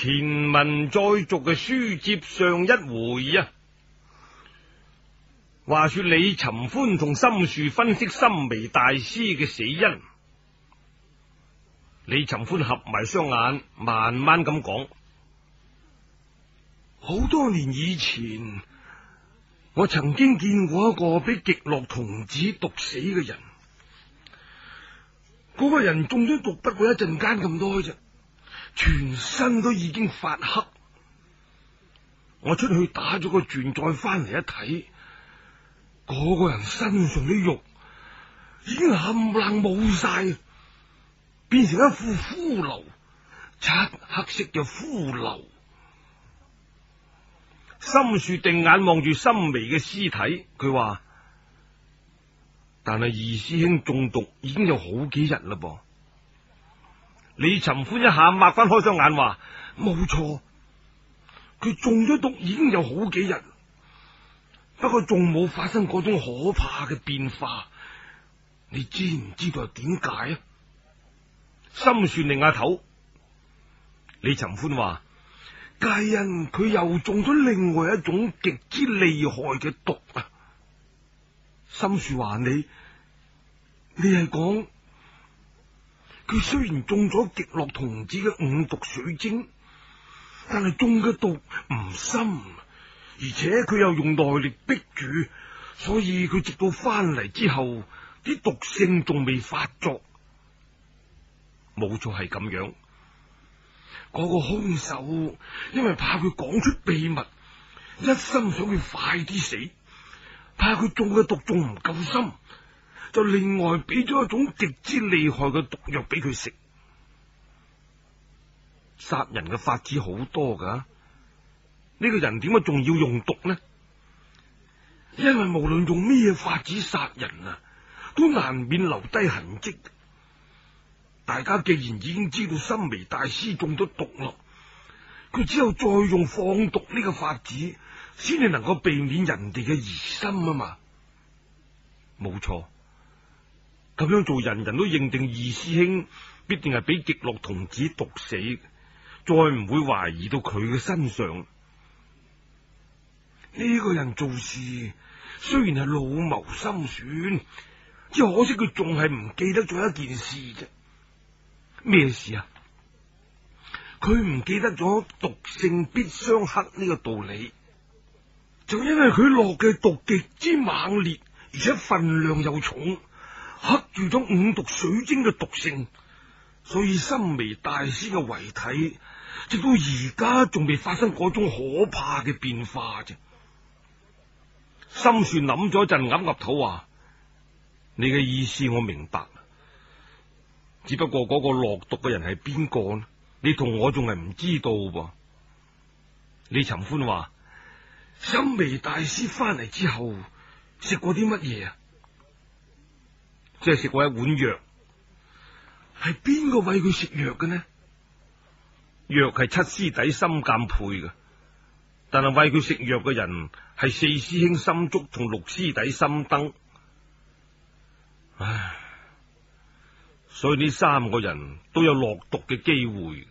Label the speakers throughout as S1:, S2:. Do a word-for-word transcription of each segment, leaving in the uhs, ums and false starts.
S1: 前文再續嘅書接上一回啊，話說李尋歡同心樹分析心眉大師嘅死因。李尋歡合埋雙眼，慢慢咁講：好多年以前，我曾經見過一個俾極樂童子毒死嘅人。嗰個人中咗毒，不過一陣間咁多啫，全身都已經發黑。我出去打咗個轉，再翻嚟一睇，嗰個人身上啲肉已經冚唪唥冇晒，變成一副骷髏，漆黑色嘅骷髏。心樹定眼望住心眉嘅屍體，佢話：但係二師兄中毒已經有好幾日啦噃。李尋歡一下擘翻開雙眼，話：冇錯，佢中咗毒已經有好幾日，不過仲冇發生嗰種可怕嘅變化。你知唔知道係點解啊？心算擰下頭，李尋歡話：皆因佢又中咗另外一種極之厲害嘅毒啊！心樹話：你你係講佢雖然中咗極樂童子嘅五毒水晶，但係中嘅毒唔深，而且佢又用內力逼住，所以佢直到翻嚟之後，啲毒性仲未發作。冇錯，係咁樣。嗰個兇手因為怕佢講出秘密，一心想佢快啲死，怕佢中嘅毒仲唔夠深，就另外俾咗一種極之厲害嘅毒藥俾佢食。殺人嘅法子好多噶，呢個人點解仲要用毒呢？因為無論用咩法子殺人啊，都難免留低痕跡。大家既然已經知道心眉大師中咗毒咯，佢只有再用放毒呢個法子，先至能夠避免人哋嘅疑心啊嘛。冇錯，咁樣做，人人都認定二師兄必定係俾極樂童子毒死，再唔會懷疑到佢嘅身上。呢個人做事雖然係老謀深算，只可惜佢仲係唔記得咗一件事啫。咩事啊？佢唔記得咗毒性必相克呢個道理，就因為佢落嘅毒極之猛烈，而且分量又重，克住咗五毒水晶嘅毒性，所以心眉大師嘅遺體直到而家仲未發生嗰種可怕嘅變化啫。心樹諗咗一陣，岌岌頭話：你嘅意思我明白。只不過嗰個落毒嘅人係邊個呢？你同我仲係唔知道噃。李尋歡話：心眉大師翻嚟之後食過啲乜嘢啊？即係食過一碗藥。係邊個餵佢食藥嘅呢？藥係七師弟心鑑配嘅，但係餵佢食藥嘅人係四師兄心竹同六師弟心燈。唉，所以呢三個人都有落毒嘅機會。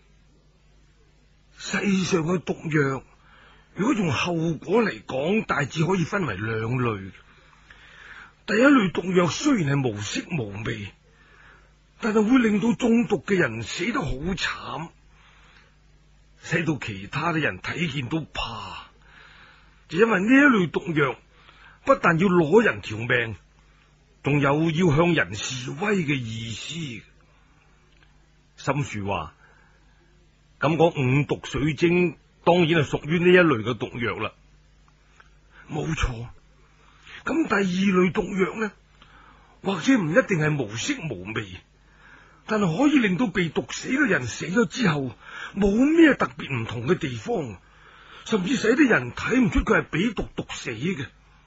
S1: 世上嘅毒藥，如果從後果嚟講，大致可以分為兩類。第一類毒藥雖然係無色無味，但係會令到中毒嘅人死得好慘，使到其他嘅人睇見都怕。就因為呢一類毒藥不但要攞人條命，仲有要向人示威嘅意思。心樹話：咁嗰五毒水晶當然係屬於呢一類嘅毒藥啦。冇錯。咁第二類毒藥呢，或者唔一定係無色無味，但係可以令到被毒死嘅人死咗之後冇咩特別唔同嘅地方，甚至使啲人睇唔出佢係俾毒毒死嘅。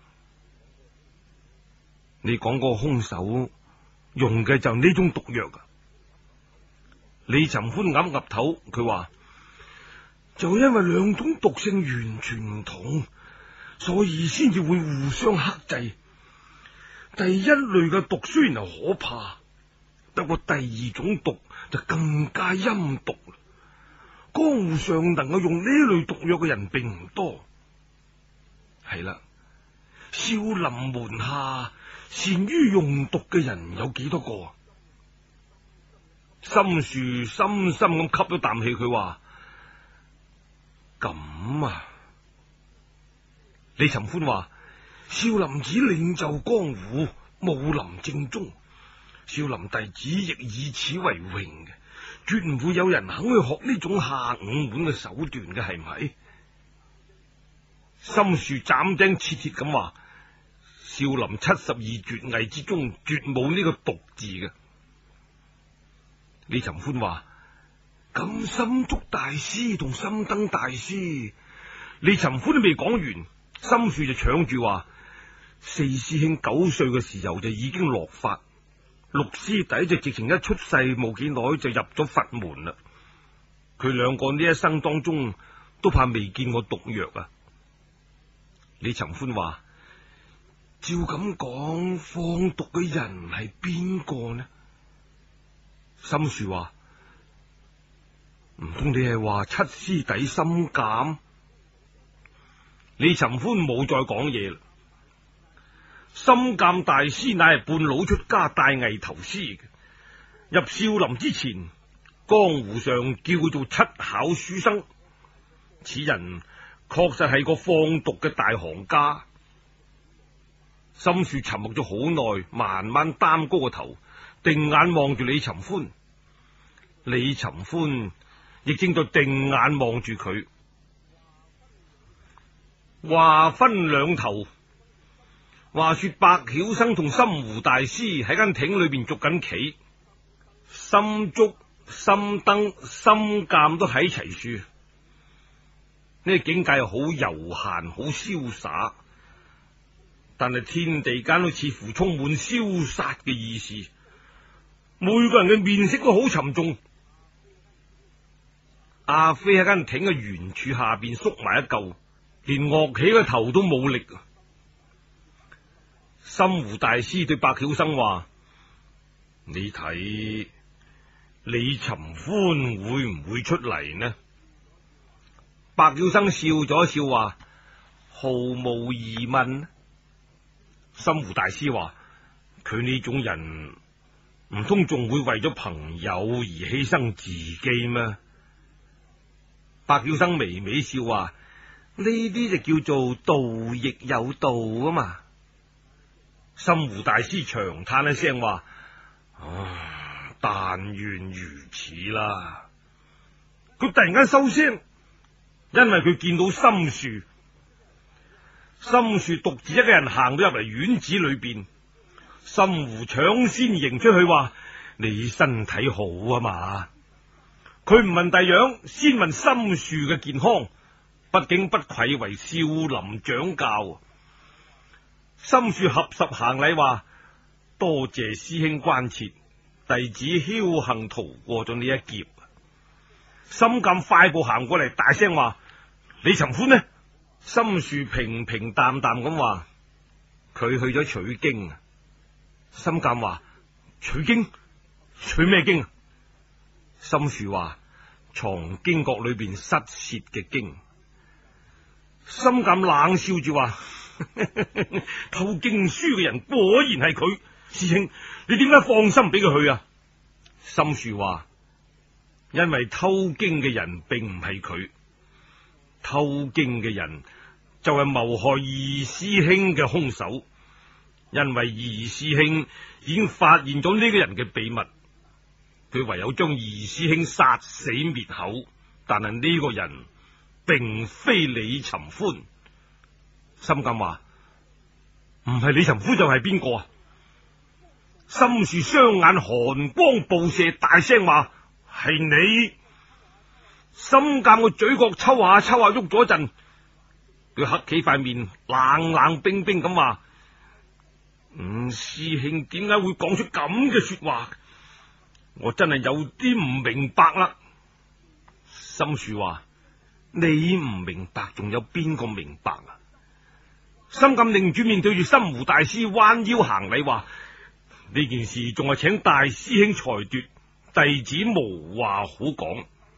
S1: 你講個兇手用嘅就呢種毒藥啊？李尋歡岌岌頭，佢話：就因為兩種毒性完全唔同，所以先至會互相克制。第一類嘅毒雖然係可怕，不過第二種毒就更加陰毒。 江湖上能夠用呢類毒藥嘅人並唔多。係啦，少林門下善於用毒嘅人有幾多個？心樹深深咁吸咗啖氣，佢話：咁啊！李尋歡話：少林寺領袖江湖，武林正宗，少林弟子亦以此為榮嘅，絕唔會有人肯去學呢種下五門嘅手段嘅，係咪？心樹斬釘截鐵咁話：少林七十二絕藝之中，絕冇呢個毒字嘅。李尋歡話：咁心竹大師同心燈大師，李尋歡都未講完，心樹就搶住話：四師兄九歲嘅時候就已經落髮，六師弟就直情一出世冇幾耐就入咗佛門啦。佢兩個呢一生當中都怕未見過毒藥啊！李尋歡話：照咁講，放毒嘅人係邊個呢？心樹話：唔通你係話七師弟心鑑？李尋歡冇再講嘢啦。心鑑大師乃係半路出家大藝頭師嘅，入少林之前，江湖上叫佢做七巧書生。此人確實係個放毒嘅大行家。心樹沉默咗好耐，慢慢擔高個頭，定眼望住李尋歡。李尋歡亦正在定眼望住佢。話分兩頭。話說白曉生同心湖大師喺間亭裏邊捉緊棋，心竹、心燈、心鑑都喺齊處。呢個境界好悠閒，好瀟灑，但係天地間都似乎充滿消殺嘅意思。每個人嘅面色都好沉重。阿飛喺間亭嘅圓柱下邊縮埋一嚿，連樂起嘅頭都冇力。心湖大師對白曉生話：你睇李尋歡會唔會出嚟呢？白曉生笑咗笑話：毫無疑問。心湖大師話：佢呢種人唔通仲會為咗朋友而犧牲自己咩？白曉生微微笑話：呢啲就叫做道亦有道啊嘛。心湖大師長嘆一聲話：啊，但願如此啦。佢突然間收聲，因為佢見到心樹。心樹獨自一個人行咗入嚟院子裏邊，心湖搶先迎出去話：你身體好啊嘛？佢唔問第樣，先問心樹嘅健康，畢竟不愧為少林掌教。心樹合十行禮話：多謝師兄關切，弟子僥幸逃過咗呢一劫。心鑑快步行過嚟，大聲話：李尋歡呢？心樹平平淡淡咁話：佢去咗取經。心鑑話：取經？取咩經？心樹話：藏經閣裏邊失竊嘅經。心鑑冷笑住話：偷經書嘅人果然係佢。師兄，你點解放心俾佢去啊？心樹話：因為偷經嘅人並唔係佢，偷經嘅人就係謀害二師兄嘅兇手。因為二師兄已經發現咗呢個人嘅秘密，佢唯有將二師兄殺死滅口。但係呢個人並非李尋歡。心鑑話：唔係李尋歡就係邊個啊？心樹雙眼寒光暴射，大聲話：係你！心鑑個嘴角抽下抽下喐咗一陣，佢黑起塊面，冷冷冰冰咁話：五師兄點解會講出咁嘅說話？我真係有啲唔明白啦。心樹話：你唔明白，仲有邊個明白啊？心鑑擰住面對住心湖大師彎腰行禮話：呢件事仲係請大師兄裁決，弟子無話好講。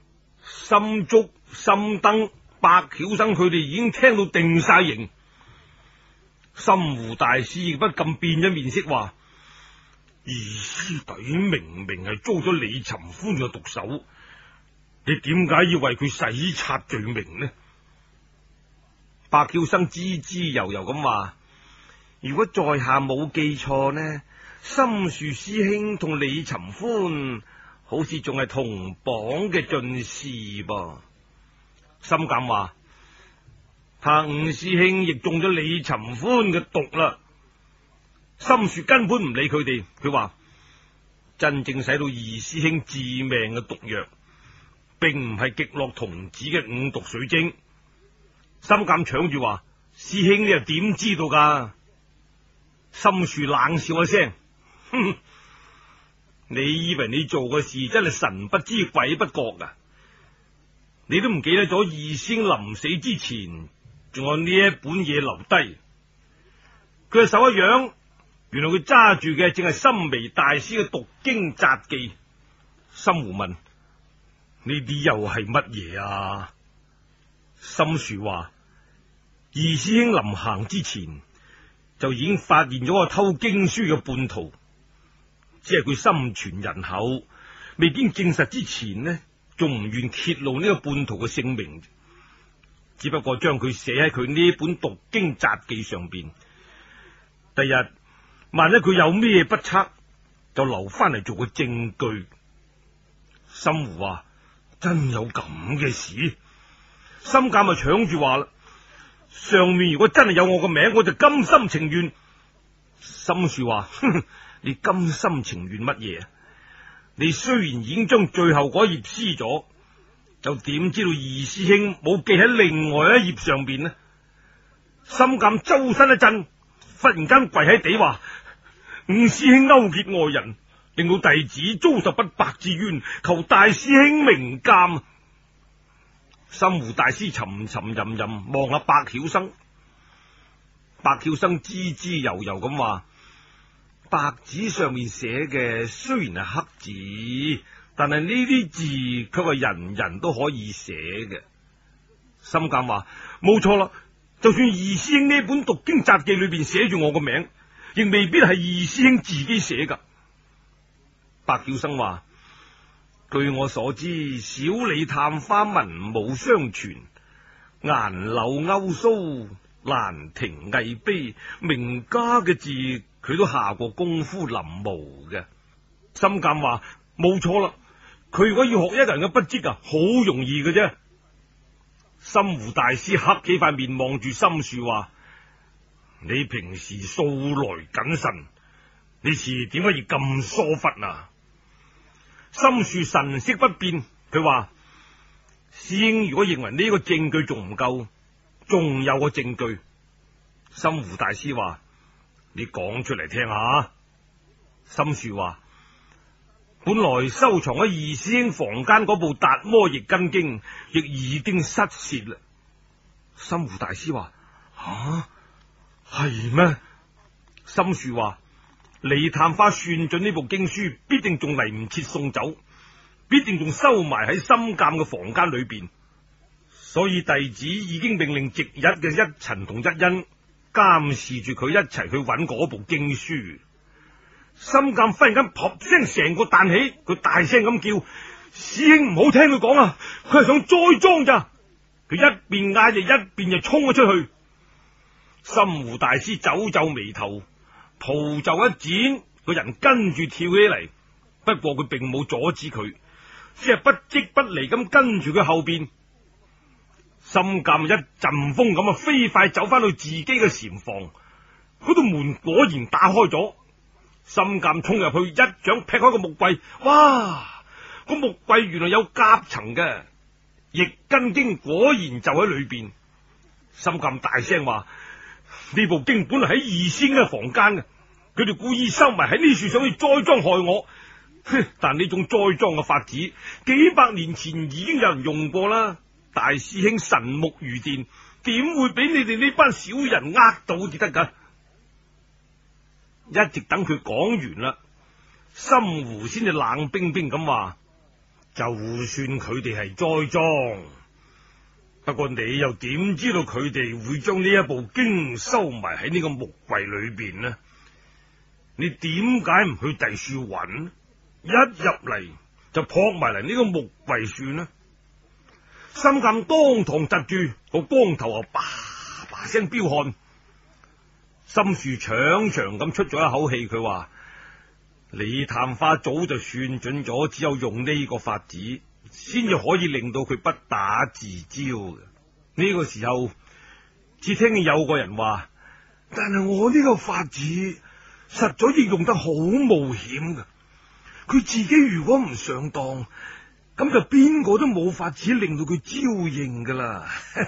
S1: 心竹、心燈、百曉生佢哋已經聽到定晒型。心湖大師亦不禁變咗面色，話：二師弟明明係遭咗李尋歡嘅毒手，你點解要為佢洗刷罪名呢？百曉生滋滋悠悠咁話：如果在下冇記錯呢，心樹師兄同李尋歡好似仲係同榜嘅進士噃。心鑒話：他五師兄亦中咗李尋歡嘅毒啦。心樹根本唔理佢哋，佢話：真正使到二師兄致命嘅毒藥，並唔係極樂童子嘅五毒水晶。心鑒搶住話：師兄你又點知道噶？心樹冷笑一聲：哼，你以為你做嘅事真係神不知鬼不覺噶？你都唔記得咗二師兄臨死之前仲有呢一本嘢留低。佢嘅手一揚，原來佢揸住嘅正係心眉大師嘅毒經札記。心湖問：呢啲又係乜嘢啊？心樹話：二師兄臨行之前就已經發現咗個偷經書嘅叛徒，只係佢心存人厚，未經證實之前呢，仲唔願揭露呢個叛徒嘅姓名，只不過將佢寫喺佢呢本毒經札記上邊。第日萬一佢有咩不測，就留翻嚟做個證據。心湖話：真有咁嘅事？心鑒咪搶住話啦：上面如果真係有我個名，我就甘心情願。心樹話：哼，你甘心情願乜嘢啊？你雖然已經將最後嗰頁撕咗，就點知道二師兄冇記喺另外一頁上邊呢？心鑒周身一震，忽然間跪喺地話：五師兄勾結外人，令到弟子遭受不白之冤，求大師兄明鑒。心湖大師沉沉吟吟望下百曉生，百曉生滋滋悠悠咁話：白紙上面寫嘅雖然係黑字，但係呢啲字卻係人人都可以寫嘅。心鑒話：冇錯啦，就算二師兄呢本讀經札記裏邊寫住我個名，亦未必係二師兄自己寫噶。百曉生話：據我所知，小李探花文武雙全，顏柳勾鬚，蘭亭藝碑，名家嘅字佢都下過功夫臨摹嘅。心鑒話：冇錯啦，佢如果要學一個人嘅筆跡啊，好容易嘅啫。心湖大師黑起塊面望住心樹話：你平時素來謹慎，呢次點解要咁疏忽啊？心樹神色不變，佢話：師兄如果認為呢個證據仲唔夠，仲有個證據。心湖大師話：你講出嚟聽下。心樹話：本來收藏喺二師兄房間嗰部《達摩譯根經》亦已經失竊啦。心湖大師話：吓，係咩？心樹話：李探花算準呢部經書必定仲嚟唔切送走，必定仲收埋喺心鑒嘅房間裏邊，所以弟子已經命令值日嘅一塵同一因監視住佢一齊去揾嗰部經書。心鑒忽然間撲聲成個彈起，佢大聲咁叫：師兄唔好聽佢講啊，佢係想栽贓咋！佢一邊嗌就一邊就衝咗出去。心湖大師皺皺眉頭，袍袖一剪，個人跟住跳起嚟。不過佢並冇阻止佢，只係不即不離咁跟住佢後邊。心鑒一陣風咁啊，飛快走翻到自己嘅禪房，嗰度門果然打開咗。心鑒衝入去，一掌劈開個木櫃，哇！個木櫃原來有夾層嘅，譯根經果然就喺裏邊。心鑒大聲話：呢部經本嚟喺二仙嘅房間嘅，佢哋故意收埋喺呢處，想去栽贓害我。哼！但呢種栽贓嘅法子，幾百年前已經有人用過啦。大師兄神目如電，點會俾你哋呢班小人呃到至得噶？一直等佢講完啦，心湖先至冷冰冰咁話： 就算佢哋係栽贓，不過你又點知道佢哋會將呢一部經收埋喺呢個木櫃裏邊呢？你點解唔去第處揾？一入嚟就撲埋嚟呢個木櫃算呢？心鑒當堂窒住，個光頭啊，叭叭聲飆汗。心樹長長咁出咗一口氣，佢話：李探花早就算準咗，只有用呢個法子，先至可以令到佢不打自招嘅。呢、這個時候，只聽見有個人話：但係我呢個法子實在亦用得好冒險嘅，佢自己如果唔上當，咁就邊個都冇法子令到佢招認噶啦。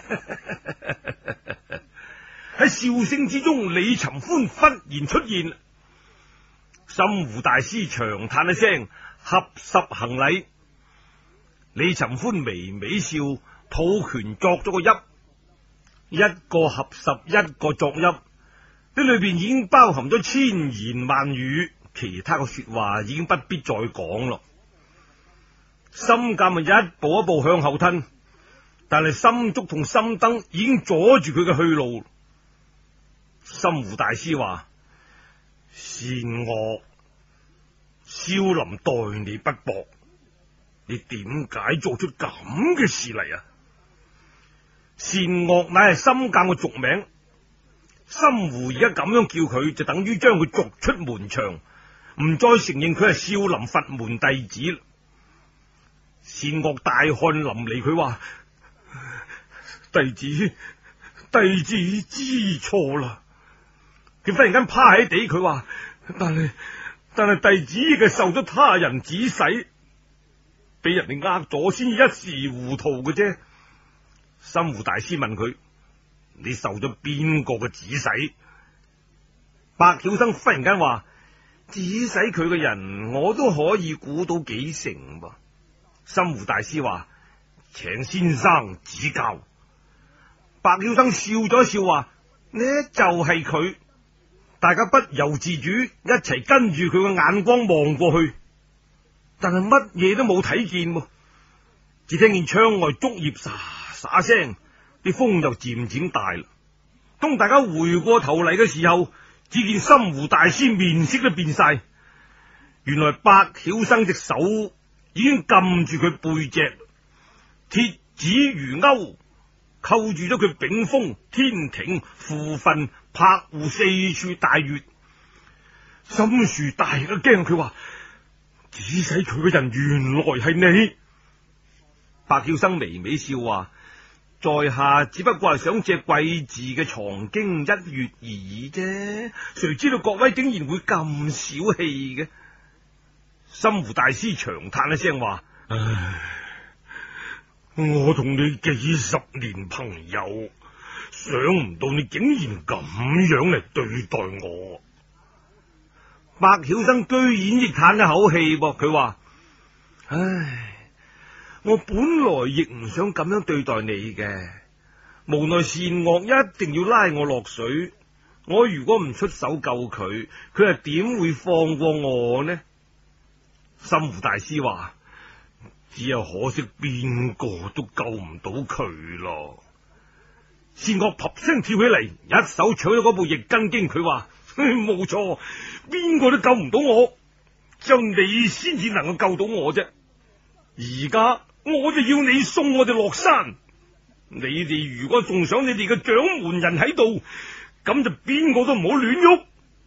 S1: 喺笑聲之中，李尋歡忽然出現，心湖大師長嘆一聲，合十行禮。李尋歡微微笑，抱拳作咗個揖，一個合十，一個作揖，呢裏邊已經包含咗千言萬語，其他嘅說話已經不必再講咯。心鑒咪一步一步向後吞，但係心竹同心燈已經阻住佢嘅去路。心湖大師話：善惡，少林待你不薄，你點解做出咁嘅事嚟啊？善惡乃係心鑒嘅俗名，心湖而家咁樣叫佢，就等於將佢逐出門牆，唔再承認佢係少林佛門弟子。善惡大汗淋漓，佢話：弟子弟子知錯啦。佢忽然間趴喺地，佢話：但係但係弟子亦係受咗他人指使，俾人哋呃咗，先一時糊塗嘅啫。心湖大師問佢：你受咗邊個嘅指使？白曉生忽然間話：指使佢嘅人，我都可以估到幾成噃。心湖大師話：請先生指教。白曉生笑咗一笑，話：呢就係佢。大家不由自主一齊跟住佢嘅眼光望過去，但係乜嘢都冇睇見，只聽見窗外竹葉沙沙聲，啲風就漸漸大啦。當大家回過頭嚟嘅時候，只見心湖大師面色都變晒，原來白曉生隻手已經撳住佢背脊，鐵指如鈎，扣住咗佢炳峰、天庭、扶分、柏戶四處大穴。心樹大一驚，佢話：指使佢嘅人原來係你。白曉生微微笑話：在下只不過係想借貴字嘅藏經一穴而已啫，誰知道各位竟然會咁小氣嘅。心湖大師長嘆一聲話：唉，我同你幾十年朋友，想唔到你竟然咁樣嚟對待我。白曉生居然亦嘆一口氣噃，佢話：唉，我本來亦唔想咁樣對待你嘅，無奈善惡一定要拉我落水，我如果唔出手救佢，佢又點會放過我呢？心湖大師話：只有可惜邊個都救唔到佢咯。善惡啪聲跳起嚟，一手搶咗嗰部易筋經，佢話：冇錯，邊個都救唔到我，只有你先至能夠救到我啫。而家我就要你送我哋落山，你哋如果仲想你哋嘅掌門人喺度，咁就邊個都唔好亂喐。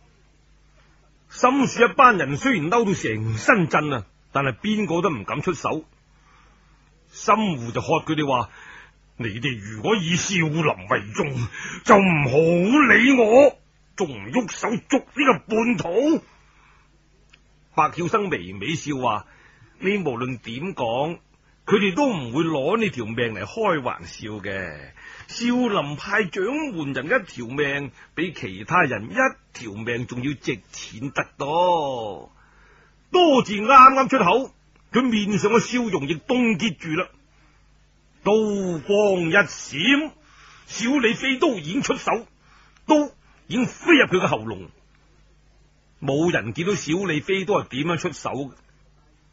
S1: 心樹一班人雖然嬲到成身震啊，但係邊個都唔敢出手。心湖就喝佢哋話：你哋如果以少林為重，就唔好理我，仲唔喐手捉呢個叛徒。白曉生微微笑話：你無論點講，佢哋都唔會攞你條命嚟開玩笑嘅。少林派掌門人一條命，比其他人一條命仲要值錢得多。多字啱啱出口，佢面上嘅笑容亦凍結住啦。刀光一閃，小李飛刀已經出手，刀已經飛入佢嘅喉嚨。冇人見到小李飛刀係點樣出手，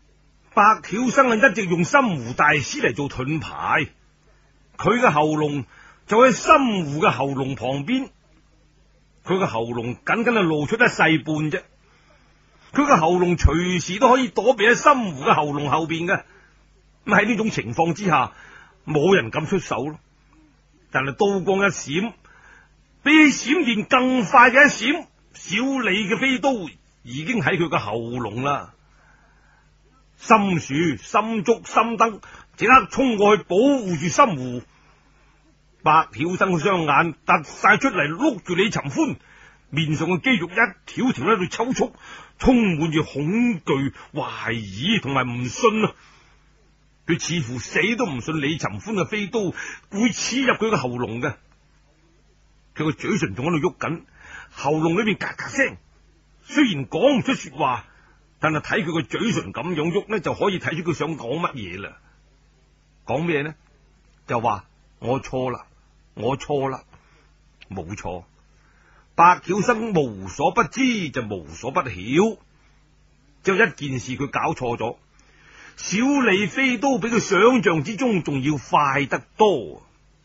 S1: 白曉生啊，一直用心湖大師嚟做盾牌，佢嘅喉嚨就喺心湖嘅喉嚨旁邊，佢嘅喉嚨僅僅係露出一細半啫，佢嘅喉嚨隨時都可以躲避喺心湖嘅喉嚨後邊嘅。咁喺呢種情況之下，冇人敢出手咯。但係刀光一閃，比起閃電更快嘅一閃，小李嘅飛刀已經喺佢嘅喉嚨啦。心樹、心竹、心燈即刻衝過去保護住心湖。白曉生嘅雙眼突晒出嚟，碌住李尋歡，面上嘅肌肉一條條喺度抽搐，充滿住恐懼、懷疑同埋唔信啊！佢似乎死都唔信李尋歡嘅飛刀會刺入佢嘅喉嚨嘅。佢個嘴唇仲喺度喐緊，喉嚨裏邊嘎嘎聲，雖然講唔出說話，但係睇佢個嘴唇咁樣喐呢，就可以睇出佢想講乜嘢啦。講咩呢？就話我錯啦，我錯啦，冇錯。白曉生無所不知就無所不曉，只有一件事佢搞錯咗。小李飛刀比佢想象之中仲要快得多。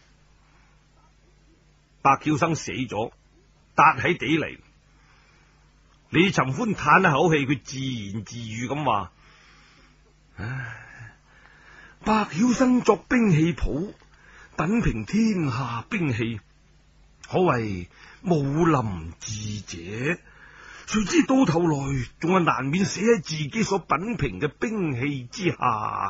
S1: 白曉生死咗，笪喺地嚟。李尋歡嘆一口氣，佢自言自語咁話：唉，白曉生作兵器譜，品評天下兵器，可謂武林智者。誰知到頭來仲係難免死喺自己所品評嘅兵器之下。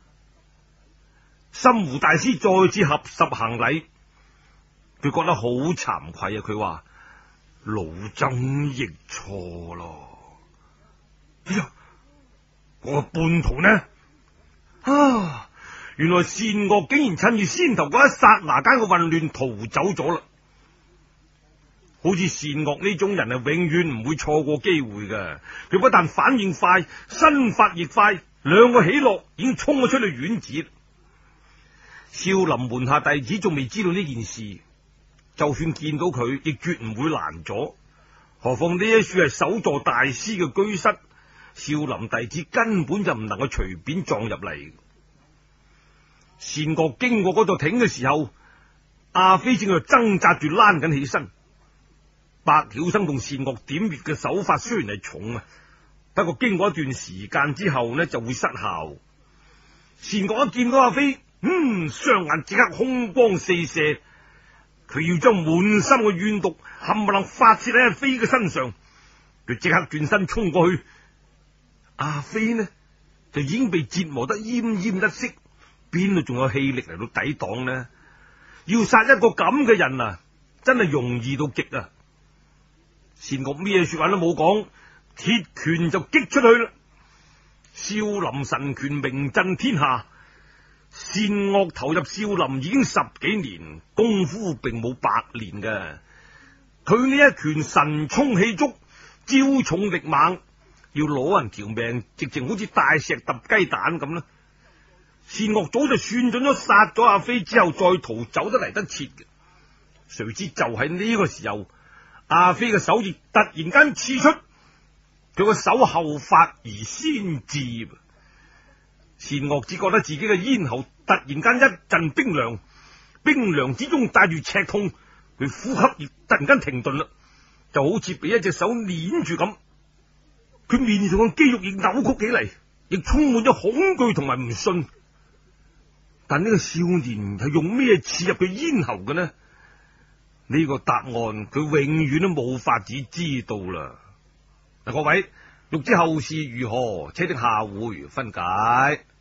S1: 心湖大師再次合十行禮，佢覺得好慚愧啊！佢話老僧亦錯咯。哎呀，我個叛徒呢？啊，原來善惡竟然趁住先頭嗰一剎那間嘅混亂逃走咗啦。好似善惡呢種人係永遠唔會錯過機會嘅，佢不但反應快，身法亦快，兩個起落已經衝咗出去院子。少林門下弟子仲未知道呢件事，就算見到佢，亦絕唔會攔阻。何況呢一處係首座大師嘅居室，少林弟子根本就唔能夠隨便撞入嚟。善惡經過嗰座亭嘅時候，阿飛正喺度掙扎住躝緊起身。白曉生同善惡點穴嘅手法雖然係重啊，不過經過一段時間之後呢，就會失效。善惡一見到阿飛，嗯，雙眼即刻凶光四射，佢要將滿心嘅怨毒冚唪唥發洩喺阿飛嘅身上。佢即刻轉身衝過去，阿飛呢就已經被折磨得奄奄一息，邊度仲有氣力嚟到抵擋呢？要殺一個咁嘅人啊，真係容易到極啊！善惡咩說話都冇講，鐵拳就擊出去啦。少林神拳名震天下，善惡投入少林已經十幾年，功夫並冇白練嘅。佢呢一拳神衝氣足，招重力猛，要攞人條命，直情好似大石揼雞蛋咁啦。善惡早就算準咗殺咗阿飛之後再逃走得嚟得切嘅，誰知就喺呢個時候，阿飛嘅手亦突然間刺出，佢個手後發而先至。善惡只覺得自己嘅咽喉突然間一陣冰涼，冰涼之中帶住赤痛，佢呼吸亦突然間停頓啦，就好似俾一隻手捏住咁。佢面上嘅肌肉亦扭曲起嚟，亦充滿咗恐懼同埋唔信。但呢個少年係用咩刺入佢咽喉嘅呢？呢個答案佢永遠都冇法子知道啦。嗱，各位，欲知後事如何，且聽下回分解。